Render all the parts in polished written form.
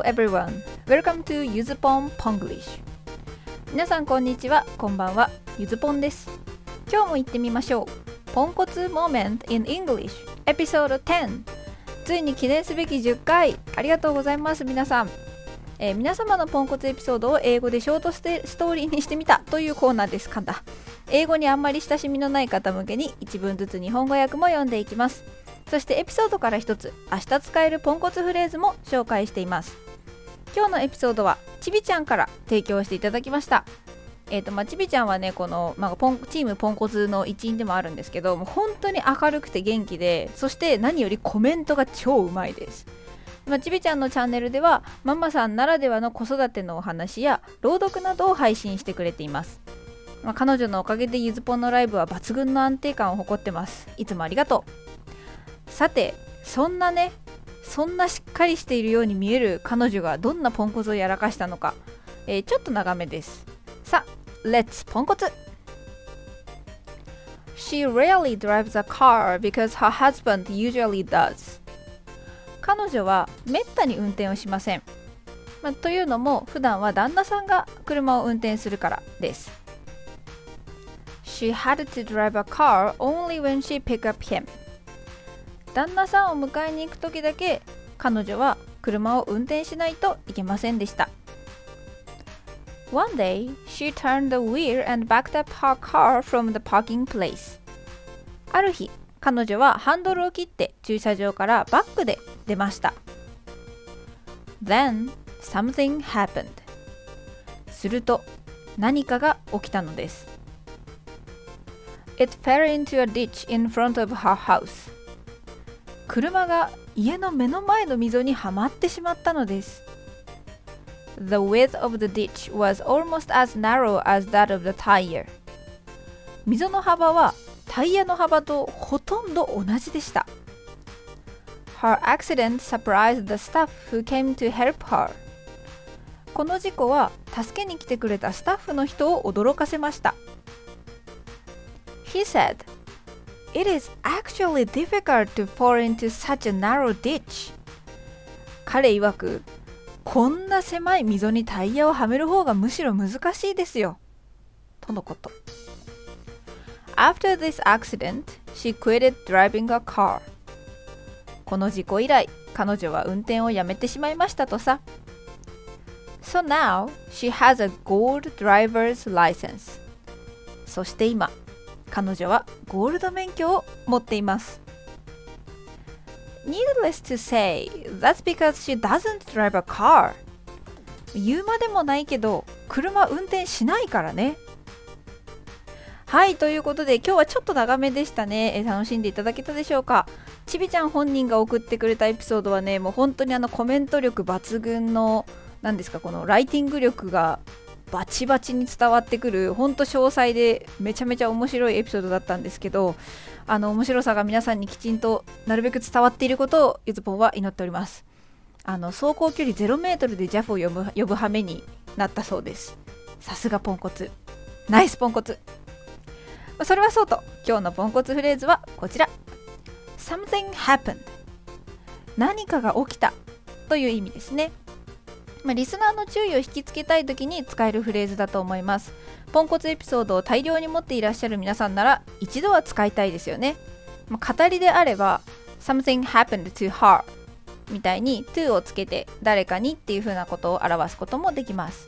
everyone. Welcome to ゆずぽん Ponglish. 皆さんこんにちは、こんばんは。ゆずぽんです。今日も行ってみましょう。ポンコツ Moment in English Episode 10。ついに記念すべき10回。ありがとうございます皆さん。皆様のポンコツエピソードを英語でショートストーリーにしてみたというコーナーですかだ。英語にあんまり親しみのない方向けに一文ずつ日本語訳も読んでいきます。そしてエピソードから一つ明日使えるポンコツフレーズも紹介しています。今日のエピソードはちびちゃんから提供していただきました。ちびちゃんはねこの、チームポンコツの一員でもあるんですけど、もう本当に明るくて元気で、そして何よりコメントが超うまいです。ちびちゃんのチャンネルではママさんならではの子育てのお話や朗読などを配信してくれています。彼女のおかげでゆずぽんのライブは抜群の安定感を誇ってます。いつもありがとう。さて、そんなしっかりしているように見える彼女がどんなポンコツをやらかしたのか、ちょっと長めです。さあ、レッツポンコツ。 She rarely drives a car because her husband usually does. 彼女はめったに運転をしません。というのも普段は旦那さんが車を運転するからです。 She had to drive a car only when she picked up him. 旦那さんを迎えに行くときだけ彼女は車を運転しないといけませんでした。 One day, she turned the wheel and backed up her car from the parking place. ある日、彼女はハンドルを切って駐車場からバックで出ました。 Then, something happened. すると何かが起きたのです。 It fell into a ditch in front of her house. 車が家の目の前の溝にはまってしまったのです。 The width of the ditch was almost as narrow as that of the tire. 溝の幅はタイヤの幅とほとんど同じでした。 Her accident surprised the staff who came to help her. この事故は助けに来てくれたスタッフの人を驚かせました。 He said,It is actually difficult to fall into such a narrow ditch. 彼曰く、こんな狭い溝にタイヤをはめる方がむしろ難しいですよ。とのこと。After this accident, she quitted driving a car. この事故以来、彼女は運転をやめてしまいましたとさ。So now, she has a gold driver's license. そして今、彼女はゴールド免許を持っています。 Needless to say, that's because she doesn't drive a car. 言うまでもないけど、車運転しないからね。はい、ということで今日はちょっと長めでしたね。楽しんでいただけたでしょうか。ちびちゃん本人が送ってくれたエピソードはね、もう本当にコメント力抜群の、このライティング力がバチバチに伝わってくる、ほんと詳細でめちゃめちゃ面白いエピソードだったんですけど、面白さが皆さんにきちんとなるべく伝わっていることをゆずぽんは祈っております。走行距離0メートルでジャフを呼ぶ羽目になったそうです。さすがポンコツ、ナイスポンコツ。それはそうと、今日のポンコツフレーズはこちら。 Something happened. 何かが起きたという意味ですね。リスナーの注意を引きつけたいときに使えるフレーズだと思います。ポンコツエピソードを大量に持っていらっしゃる皆さんなら一度は使いたいですよね。語りであれば Something happened to her みたいに to をつけて誰かにっていう風なことを表すこともできます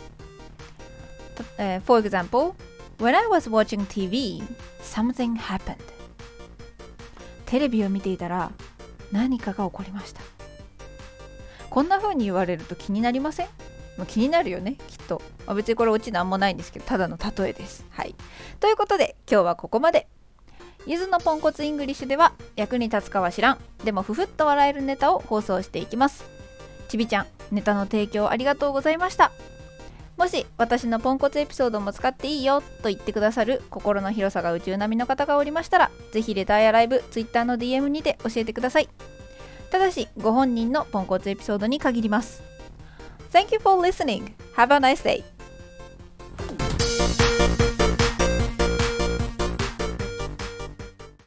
。For example, when I was watching TV, something happened. テレビを見ていたら何かが起こりました。こんな風に言われると気になりません？気になるよね、きっと。別にこれオチなんもないんですけど、ただの例えです。はい。ということで今日はここまで。ゆずのポンコツイングリッシュでは役に立つかは知らん、でもふふっと笑えるネタを放送していきます。ちびちゃん、ネタの提供ありがとうございました。もし私のポンコツエピソードも使っていいよと言ってくださる心の広さが宇宙並みの方がおりましたら、ぜひレターやライブ、ツイッターの DM にて教えてください。ただしご本人のポンコツエピソードに限ります。Thank you for listening. Have a nice day.